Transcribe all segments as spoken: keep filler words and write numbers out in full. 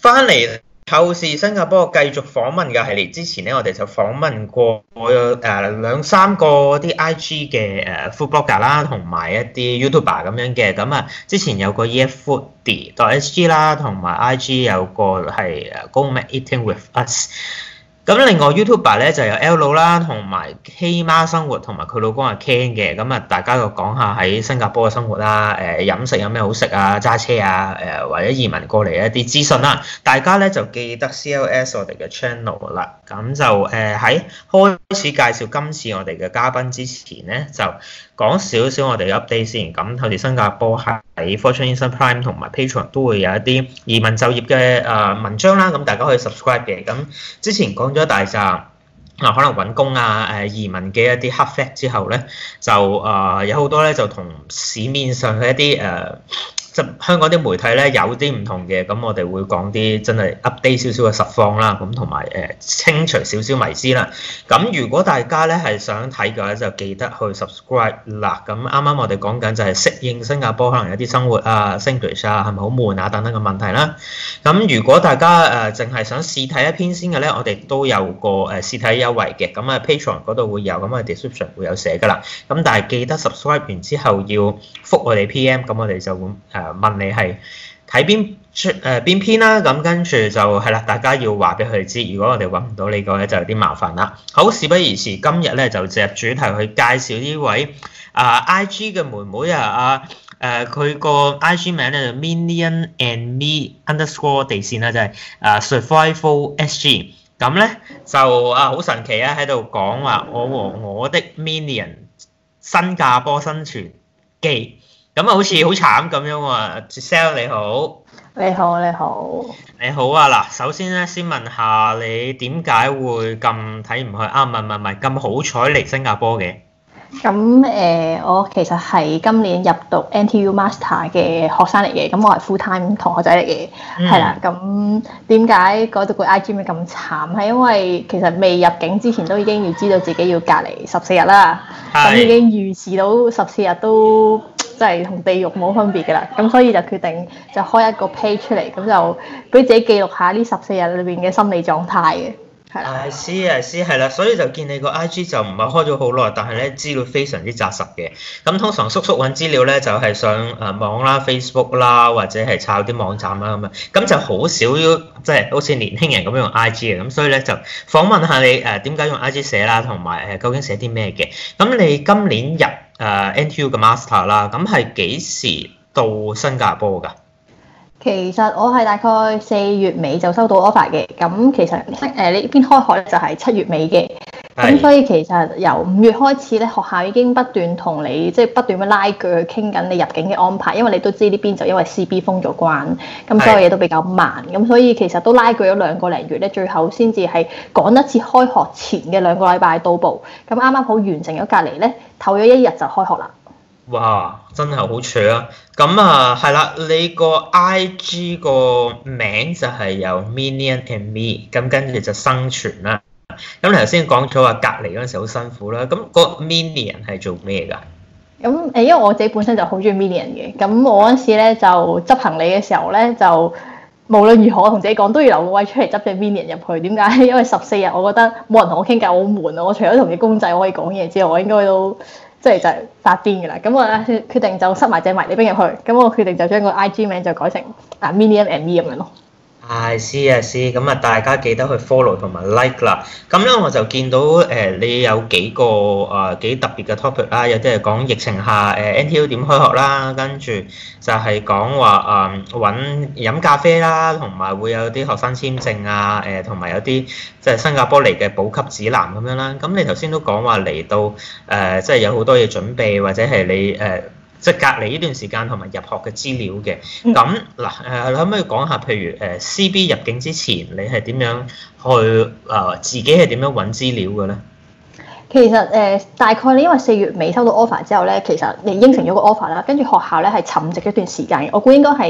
翻嚟透視新加坡繼續訪問嘅系列，之前咧我哋就訪問過誒兩三個啲 I G 嘅誒 food blogger 啦，同埋一啲 YouTuber 咁樣嘅。咁啊，之前有個 eatfoodie.sg 啦，同埋 I G 有個係誒 Go Mac Eating with Us。咁另外 YouTuber 咧就有 L 啦，同埋 K 媽生活同埋佢老公阿 Ken 嘅。咁啊，大家就講下喺新加坡嘅生活啦，誒飲食有咩好食啊，揸車啊，誒或者移民過嚟一啲資訊啦。大家咧就記得 C L S 我哋嘅 channel 啦。咁就誒喺開始介紹今次我哋嘅嘉賓之前咧，就講少少我哋嘅 update 先。咁我哋新加坡喺 Fortune Instant Prime 同埋 Patreon 都會有一啲移民就業嘅誒文章啦。咁大家可以 subscribe 嘅。咁之前講咗大扎啊，可能揾工啊、誒移民嘅一啲 hard fact 之後咧，就誒有好多咧就同市面上嘅一啲誒即香港啲媒體咧有啲唔同嘅。咁我哋會講啲真係 update 少少嘅實況啦，咁同埋誒清除少少迷思啦。咁如果大家咧係想睇嘅話，就記得去 subscribe 啦。咁啱啱我哋講緊就係適應新加坡可能有啲生活啊、English 啊，係咪好悶啊等等嘅問題啦。咁如果大家誒淨係想試睇一篇先嘅咧，我哋都有個誒試睇優惠嘅。咁啊 Patreon 嗰度會有，咁啊 description 會有寫㗎啦。咁但係記得 subscribe 完之後要覆我哋 P M， 咁我哋就會誒問你係睇邊出誒邊篇啦。咁跟住就係啦，大家要話俾佢哋知。如果我哋揾唔到你個咧，就有啲麻煩啦。好，事不宜遲，今日咧就進入主題去介紹呢位啊 I G 嘅妹妹啊啊誒佢個 I G 名咧就 Minion and Me underscore 地線啦，就係啊 Survival S G。咁咧就啊好神奇啊，喺度講話我和我的 Minion 新加坡生存記。咁啊好似好慘咁樣喎。Giselle 你好。 你好，你好。 你好啊，嗱，首先咧先問下你點解會咁睇唔去啊？唔係唔係唔係咁好彩嚟新加坡嘅。 咁誒、呃，我其實係今年入讀 N T U Master 嘅學生嚟嘅，咁我係 full time 同學仔嚟嘅，係啦、嗯。咁點解嗰度個 I G 咪咁慘？係因為其實未入境之前都已經要知道自己要隔離十四日啦，咁已經預示到十四日都即係同地獄冇分別㗎啦。咁所以就決定就開一個 page 出嚟，咁就俾自己記錄下呢十四日裏邊嘅心理狀態嘅。 係知係知係啦，所以就見你個 I G 就唔係開咗好耐，但係咧資料非常之紮實嘅。咁通常叔叔揾資料咧就係上誒網啦、Facebook 啦，或者係抄啲網站啦咁樣。咁就好少即係好似年輕人咁樣用 I G 嘅。咁所以咧就訪問下你誒點解用 I G 寫啦，同埋誒究竟寫啲咩嘅。咁你今年入誒 N T U 嘅 Master 啦，咁係幾時到新加坡㗎？ 其實我係大概四月尾就收到 offer 嘅，咁其實誒呢邊開學咧就係七月尾嘅，咁所以其實由五月開始咧，學校已經不斷同你即係、就是、不斷咁拉鋸去傾緊你入境嘅安排，因為你都知呢邊就因為 C B 封咗關，咁所有嘢都比較慢，咁所以其實都拉鋸咗兩個零月咧，最後先至係趕一次開學前嘅兩個禮拜到埗，咁啱啱好完成咗隔離咧，唞咗一日就開學啦。 哇！真係好扯啊！咁啊，係啦，你個 I G 個名就係有 Minion and Me， 咁跟住就生存啦。咁你頭先講咗話隔離嗰陣時好辛苦啦，咁個 Minion 係做咩㗎？ 咁誒，因為我自己本身就好中意 Minion 嘅，咁我嗰陣時咧就執行李嘅時候咧，就無論如何同自己講都要留個位出嚟執隻 Minion 入去。點解？因為十四日我覺得冇人同我傾偈好悶啊！我除咗同隻公仔可以講嘢之外，我應該都〜即係就係發癲㗎啦，咁我咧決定就塞埋隻迷你兵入去，咁我決定就將個 I G 名就改成啊 Minion and Me 咁樣咯。係， 知啊知，咁啊大家記得去 follow 同埋 like 啦。咁咧我就見到誒、呃、你有幾個誒、呃、幾特別嘅 topic 啦，有啲係講疫情下誒、呃、N T U 點開學啦，跟住就係講話誒揾飲咖啡啦，同埋會有啲學生簽證啊，誒同埋有啲即係新加坡嚟嘅補給指南咁樣啦。咁你頭先都講話嚟到誒，即、呃、係、就是、有好多嘢準備，或者係你誒。呃即係隔離呢段時間同埋入學嘅資料嘅，咁嗱誒，你可唔可以講下，譬如誒 C B 入境之前，你係點樣去誒、呃、自己係點樣揾資料嘅咧？ 其實誒、呃、大概你因為四月尾收到 offer 之後咧，其實你應承咗個 offer 啦，跟住學校咧係沉寂一段時間嘅，我估應該係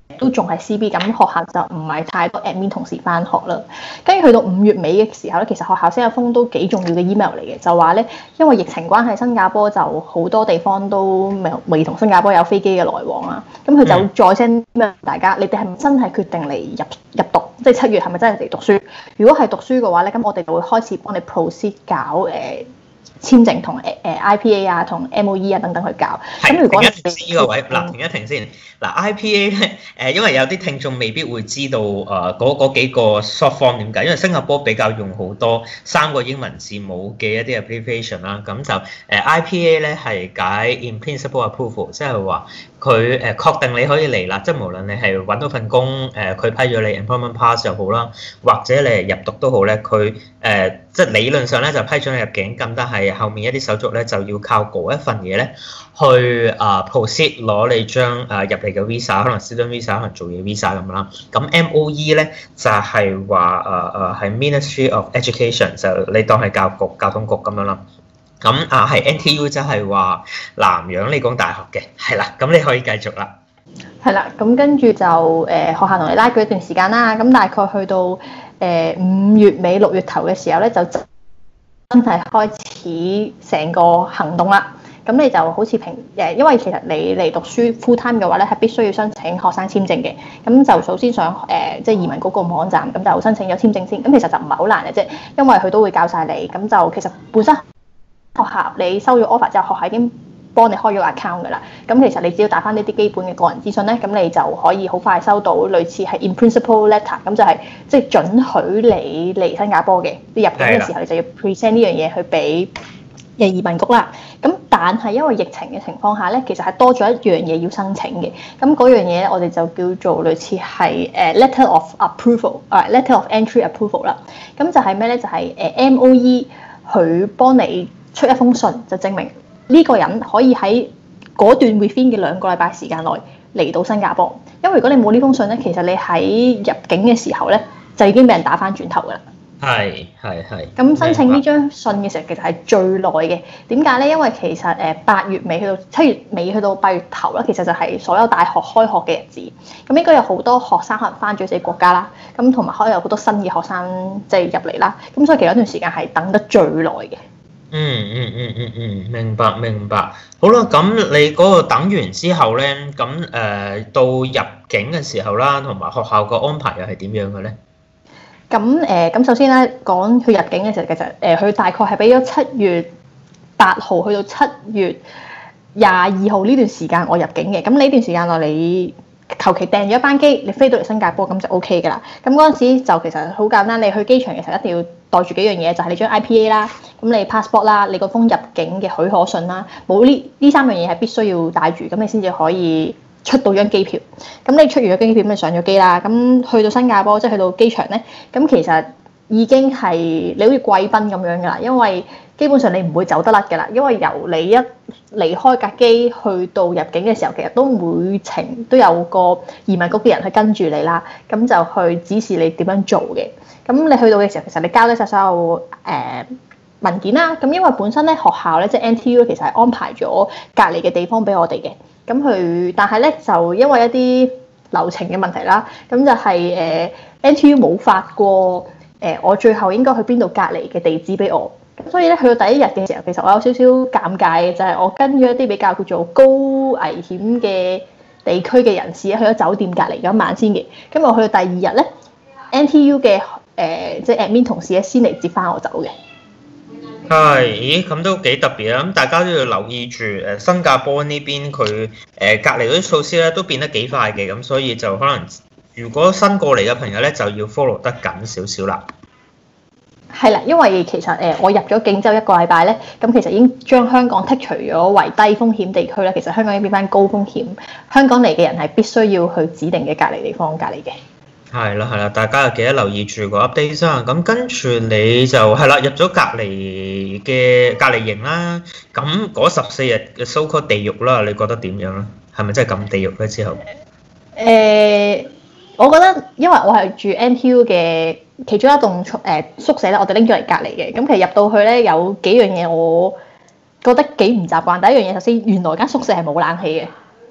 都仲係 C B， 咁學校就唔係太多 admin 同事翻學啦。跟住去到五月尾嘅時候咧，其實學校先有封都幾重要嘅 email 嚟嘅，就話咧因為疫情關係，新加坡就好多地方都未未同新加坡有飛機嘅來往啊。咁佢就再 send email大家，你哋係咪真係決定嚟入入讀？即係七月係咪真係嚟讀書？如果係讀書嘅話咧，咁我哋就會開始幫你 proceed 搞誒。呃簽證同誒 I P A 啊，同 M O E 啊等等去搞。咁如果停一停先呢個位，嗱停一停先。嗱 I P A 咧，誒因為有啲聽眾未必會知道誒嗰嗰幾個 short form 點解，因為新加坡比較用好多三個英文字母嘅一啲 abbreviation 啦。咁就誒 I P A 咧係解 in principle approval，即係話佢誒確定你可以嚟啦，即係無論你係揾到份工，誒佢批咗你 employment pass 又好啦，或者你係入讀都好咧，佢誒即係理論上咧就批准你入境，咁但係後面一啲手續咧就要靠嗰一份嘢咧去啊 proceed 攞你張誒入嚟嘅 visa， 可能 student visa， 可能做嘢 visa 咁啦。咁 M O E 咧就係話誒誒係 Ministry of Education， 就你當係教育局、交通局咁樣啦。咁啊係 N T U 即係話南洋理工大學嘅，係啦。咁你可以繼續啦。 係啦，咁跟住就誒、呃、學校同你拉鋸一段時間啦。咁大概去到誒五、呃、月尾六月頭嘅時候咧，就真係開始成個行動啦。咁你就好似平誒，因為其實你嚟讀書 full time 嘅話咧，係必須要申請學生簽證嘅。咁就首先上誒即係移民局個網站，咁就申請咗簽證先。咁其實就唔係好難嘅啫，因為佢都會教晒你。咁就其實本身學校你收咗 offer 之後，學校已經幫你開咗 account 㗎啦。咁其實你只要打翻呢啲基本嘅個人資訊咧，咁你就可以好快收到類似係 in principle letter，咁就係即係准許你嚟新加坡嘅。你入境嘅時候，你就要 present 呢樣嘢去俾嘅移民局啦。咁但係因為疫情嘅情況下咧，其實係多咗一樣嘢要申請嘅。咁嗰樣嘢咧，我哋就叫做類似係誒 letter of approval，啊 letter of entry approval 啦。咁就係咩咧？就係誒 M O E 佢幫你出一封信，就證明呢個人可以喺嗰段 within 嘅兩個禮拜時間內嚟到新加坡。因為如果你冇呢封信咧，其實你喺入境嘅時候咧，就已經俾人打翻轉頭㗎啦。 係係係。 咁申請呢張信嘅時候，其實係最耐嘅。點解咧？因為其實誒八月尾去到七月尾去到八月頭啦，其實就係所有大學開學嘅日子。咁應該有好多學生可能翻咗自己國家啦，咁同埋可能有好多新嘅學生即係入嚟啦。咁所以其實一段時間係等得最耐嘅。 嗯嗯嗯嗯嗯，明白明白。好啦，咁你嗰個等完之後咧，咁誒、呃、到入境嘅時候啦，同埋學校個安排又係點樣嘅咧？ 咁誒，咁、呃、首先咧講去入境嘅時候，其實誒佢、呃、大概係俾咗七月八號去到七月廿二號呢段時間我入境嘅。咁呢段時間內你求其訂咗一班機，你飛到嚟新加坡咁就 O K 㗎啦。咁嗰陣時就其實好簡單，你去機場嘅時候一定要帶住幾樣嘢，就係、是、你張 I P A 啦，咁你 passport 啦，你個封入境嘅許可信啦，冇呢呢三樣嘢係必須要帶住，咁你先至可以出到張機票。咁你出完咗機票，咁你上咗機啦，咁去到新加坡即係去到機場咧，咁其實已經係你好似貴賓咁樣㗎啦，因為基本上你唔會走得甩㗎啦，因為由你一離開架機去到入境嘅時候，其實都每程都有個移民局嘅人去跟住你啦，咁就去指示你點樣做嘅。咁你去到嘅時候，其實你交低晒所有誒、呃、文件啦。咁因為本身咧學校咧即係 N T U 其實係安排咗隔離嘅地方俾我哋嘅。咁佢但係咧就因為一啲流程嘅問題啦，咁就係、是、誒、呃、N T U 冇發過誒、呃、我最後應該去邊度隔離嘅地址俾我。咁所以咧去到第一日嘅時候，其實我有少少尷尬嘅，就係、是、我跟咗一啲比較叫做高危險嘅地區嘅人士去咗酒店隔離咗一晚先嘅。咁我去到第二日咧 ，N T U 嘅誒即係 admin 同事咧先嚟接翻我走嘅。 係，咦咁都幾特別啊！咁大家都要留意住誒新加坡呢邊佢誒隔離嗰啲措施咧都變得幾快嘅，咁所以就可能如果新過嚟嘅朋友咧就要 follow 得緊少少啦。 係啦，因為其實誒我入咗境之後一個禮拜咧，咁其實已經將香港剔除咗為低風險地區啦。其實香港已經變翻高風險，香港嚟嘅人係必須要去指定嘅隔離地方隔離嘅。係啦係啦，大家又記得留意住個 update 啦。咁跟住你就係啦，入咗隔離嘅隔離營啦。咁嗰十四日嘅 so called 地獄啦，你覺得點樣咧？係咪真係咁地獄咧？之後誒、 呃，我覺得因為我係住 N T U 嘅其中一棟宿誒宿舍咧，我哋拎咗嚟隔離嘅。咁其實入到去咧有幾樣嘢我覺得幾唔習慣。第一樣嘢首先原來間宿舍係冇冷氣嘅。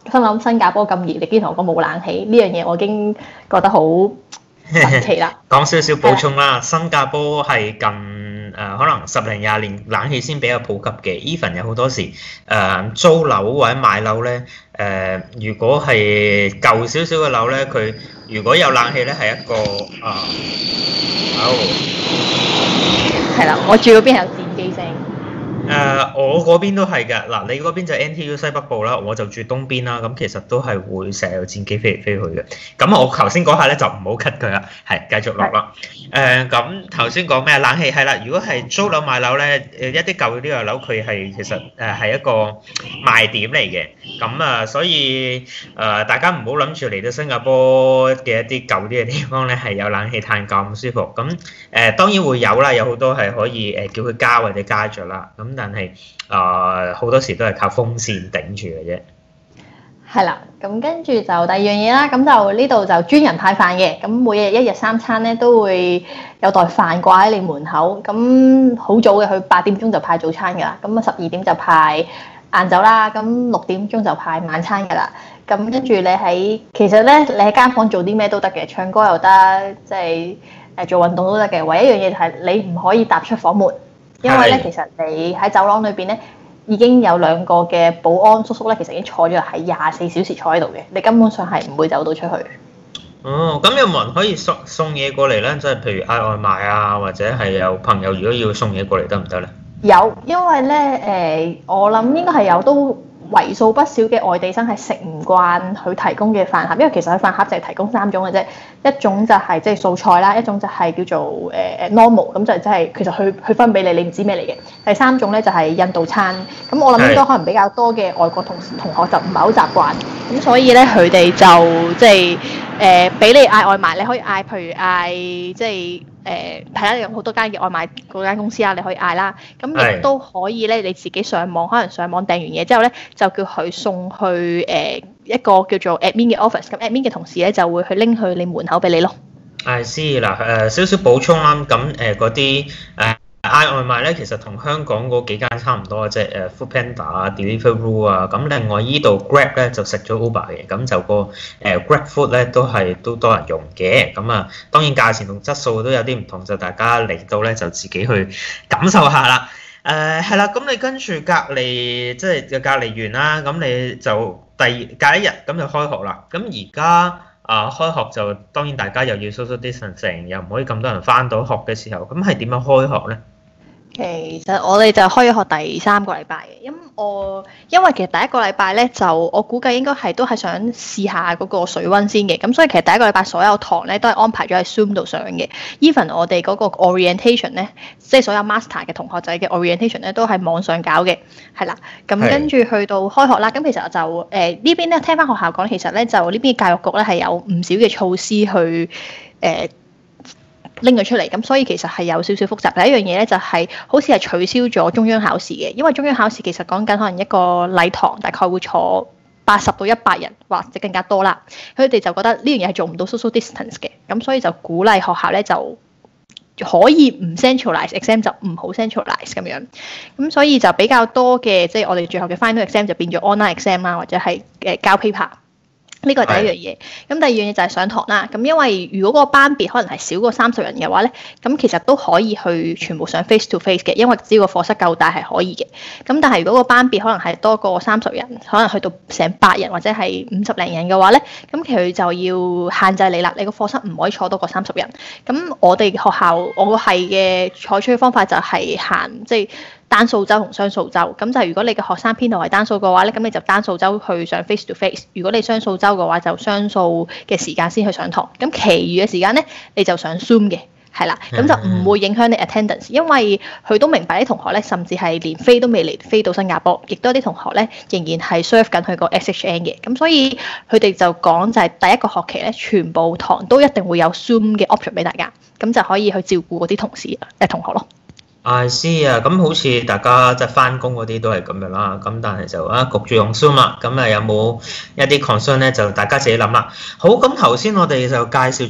心諗新加坡咁熱，你竟然同我講冇冷氣，呢樣嘢我已經覺得好神奇啦。 講少少補充啦，新加坡係近誒、呃、可能十零廿年冷氣先比較普及嘅。even 有好多時誒、呃、租樓或者買樓咧，誒、呃、如果係舊少少嘅樓咧，佢如果有冷氣咧，係一個啊，好係啦，我住嗰邊係有戰機聲。 誒、呃，我嗰邊都係嘅。嗱，你嗰邊就 N T U 西北部啦，我就住東邊啦。咁其實都係會成日有戰機飛嚟飛去嘅。咁我頭先講下咧就唔好 cut 佢啦，係繼續落啦。誒，咁頭先講咩冷氣係啦，如果係租樓買樓咧，誒一啲舊啲嘅樓佢係其實誒係一個賣點嚟嘅。咁啊，所以誒、呃、大家唔好諗住嚟到新加坡嘅一啲舊啲嘅地方咧係有冷氣嘆咁舒服。咁誒、呃、當然會有啦，有好多係可以誒叫佢加或者加咗啦。咁但係啊，好、呃、多時都係靠風扇頂住嘅啫。 係啦，咁跟住就第二樣嘢啦，咁就呢度就專人派飯嘅，咁每日一日三餐咧都會有袋飯掛喺你門口，咁好早嘅，佢八點鐘就派早餐㗎啦，咁啊十二點就派晏晝啦，咁六點鐘就派晚餐㗎啦，咁跟住你喺其實咧你喺間房做啲咩都得嘅，唱歌又得，即係誒做運動都得嘅，唯一一樣嘢就係你唔可以踏出房門。因為咧，其實你喺走廊裏邊咧，已經有兩個嘅保安叔叔咧，其實已經坐咗喺廿四小時坐喺度嘅，你根本上係唔會走到出去。 哦，咁有冇人可以送送嘢過嚟咧？即係譬如嗌外賣啊，或者係有朋友如果要送嘢過嚟得唔得咧？ 有，因為咧誒、呃，我諗應該係有都為數不少嘅外地生係食唔慣佢提供嘅飯盒，因為其實佢飯盒就係提供三種嘅啫，一種就係即係素菜啦，一種就係叫做誒誒、呃、normal，咁就即係其實佢佢分俾你，你唔知咩嚟嘅。第三種咧就係印度餐，咁我諗應該可能比較多嘅外國同同學就唔係好習慣，咁所以咧佢哋就即係誒俾你嗌外賣，你可以嗌譬如嗌即係。誒係啦，有好多間嘅外賣嗰間公司啊，你可以嗌啦。咁亦都可以咧，你自己上網，可能上網訂完嘢之後咧，就叫佢送去誒、呃、一個叫做 admin 嘅 office。咁 admin 嘅同事咧就會去拎去你門口俾你咯。係，知嗱誒少少補充啦。咁誒嗰啲誒嗌外賣咧，其實同香港嗰幾間差唔多嘅啫。誒 Foodpanda 啊、Deliveroo 啊。咁另外依度 Grab 咧就食咗 Uber 嘅，咁就個誒 Grab Food 咧都係都多人用嘅。咁啊，當然價錢同質素都有啲唔同，就大家嚟到咧就自己去感受下啦。誒係啦，咁你跟住隔離即係嘅隔離完啦，咁你就第隔一日咁就開學啦。咁而家啊開學就當然大家又要 social distancing，又唔可以咁多人返到學嘅時候，咁係點樣開學咧？其實我哋就開咗學第三個禮拜嘅，因我因為其實第一個禮拜咧就我估計應該係都係想試下嗰個水溫先嘅，咁所以其實第一個禮拜所有堂咧都係安排咗喺 Zoom 度上嘅。Even 我哋嗰個 orientation 咧，即係所有 master 嘅同學仔嘅 orientation 咧都係網上搞嘅，係啦。咁跟住去到開學啦，咁其實就誒、呃、呢邊咧聽翻學校講，其實咧就呢邊教育局咧係有唔少嘅措施去誒。呃拎佢出嚟，咁所以其實係有少少複雜。第一樣嘢咧就係、是、好似係取消咗中央考試嘅，因為中央考試其實講緊可能一個禮堂大概會坐八十到一百人或者更加多啦。佢哋就覺得呢樣嘢係做唔到 social distance 嘅，咁所以就鼓勵學校咧就可以唔 centralize exam 就唔好 centralize 咁樣。咁所以就比較多嘅即係我哋最後嘅 final exam 就變咗 online exam 啦，或者係誒交 paper。呢個係第一樣嘢，咁第二樣嘢就係上堂啦。咁因為如果個班別可能係少過三十人嘅話咧，咁其實都可以去全部上 face to face 嘅，因為只要個課室夠大係可以嘅。咁但係如果個班別可能係多過三十人，可能去到成百人或者係五十零人嘅話咧，咁佢就要限制你啦。你個課室唔可以坐多過三十人。咁我哋學校我個係嘅採取嘅方法就係限即係。單數週同雙數週，咁就如果你嘅學生編號係單數嘅話咧，咁你就單數週去上 face to face；如果你雙數週嘅話，就雙數嘅時間先去上堂。咁其餘嘅時間咧，你就上 Zoom 嘅，係啦，咁就唔會影響你 attendance，因為佢都明白啲同學咧，甚至係連飛都未嚟飛到新加坡，亦都有啲同學咧仍然係 serve 緊佢個 S H N 嘅，咁所以佢哋就講就係第一個學期咧，全部堂都一定會有 Zoom 嘅 option 俾大家，咁就可以去照顧嗰啲同事誒同學咯。I see 啊，咁好似大家即係翻工嗰啲都係咁樣啦，咁但係就啊焗住用 Zoom 啦，咁啊有冇一啲 concern 咧？就大家自己諗啦。好，咁頭先我哋就介紹咗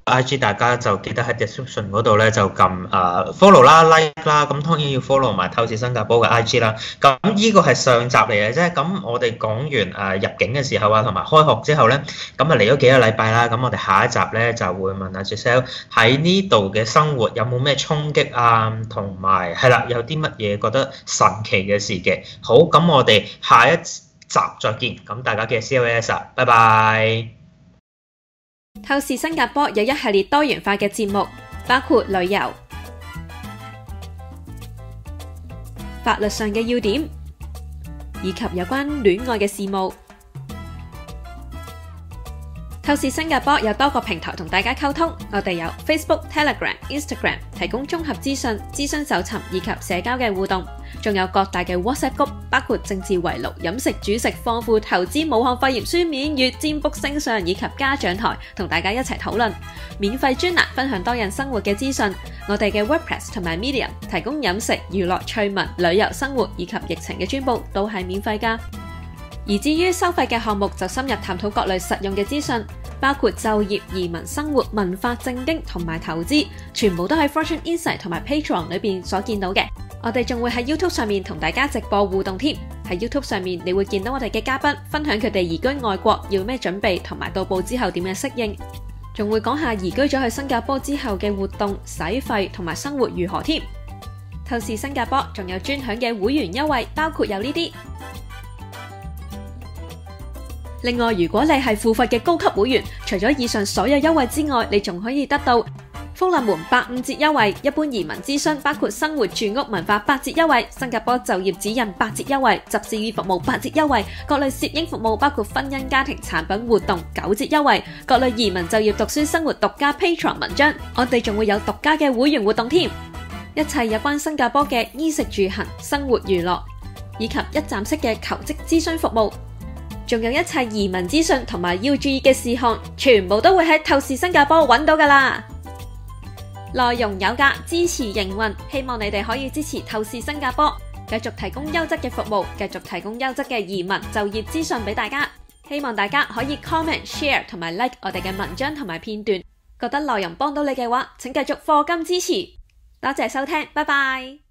I G 大家就記得喺 description 嗰度咧就撳誒 follow 啦 like 啦，咁當然要 follow 埋透視新加坡嘅 I G 啦。咁呢個係上集嚟嘅啫，咁我哋講完誒入境嘅時候啊，同埋開學之後咧，咁啊嚟咗幾個禮拜啦，咁我哋下一集咧就會問阿 Giselle 喺呢度嘅生活有冇咩衝擊啊，同埋係啦，有啲乜嘢覺得神奇嘅事嘅。好，咁我哋下一集再見，咁大家記得 C L S 啊，拜拜。 透視新加坡有一系列多元化嘅節目，包括旅遊、法律上嘅要點，以及有關戀愛嘅事務。透視新加坡有多個平台同大家溝通，我哋有 Facebook、Telegram、Instagram 提供綜合資訊、諮詢搜尋以及社交嘅互動，仲有各大嘅 WhatsApp group，包括政治圍爐、飲食煮食、豐富投資、武漢肺炎書面月、占卜星相以及家長台，同大家一齊討論。免費專欄分享多人生活嘅資訊，我哋嘅 WordPress 同埋 Medium 提供飲食、娛樂、趣聞、旅遊、生活以及疫情嘅專報，都係免費㗎。而至於收費嘅項目，就深入探討各類實用嘅資訊，包括就業、移民、生活、文化、政經同埋投資，全部都喺 Fortune Insight 同埋 Patreon 裏邊所見到嘅。我哋仲會喺 YouTube 上面同大家直播互動添。喺 YouTube 上面，你會見到我哋嘅嘉賓分享佢哋移居外國要咩準備，同埋到埗之後點樣適應，仲會講下移居咗去新加坡之後嘅活動、使費同埋生活如何添。透視新加坡仲有專享嘅會員優惠，包括有呢啲。另外，如果你係付費嘅高級會員，除咗以上所有優惠之外，你仲可以得到福利門八五折優惠，一般移民諮詢包括生活、住屋、文化八折優惠，新加坡就業指引八折優惠，執事語服務八折優惠，各類攝影服務包括婚姻家庭產品活動九折優惠，各類移民就業讀書生活獨家 Patreon 文章，我哋仲會有獨家嘅會員活動添。一切有關新加坡嘅衣食住行、生活娛樂，以及一站式嘅求職諮詢服務，仲有一切移民資訊同埋要注意嘅事項，全部都會喺透視新加坡揾到㗎啦。內容有價，支持營運，希望你哋可以支持透視新加坡，繼續提供優質嘅服務，繼續提供優質嘅移民就業資訊俾大家。希望大家可以 comment、share 同埋 like 我哋嘅文章同埋片段。覺得內容幫到你嘅話，請繼續課金支持。多謝收聽，拜拜。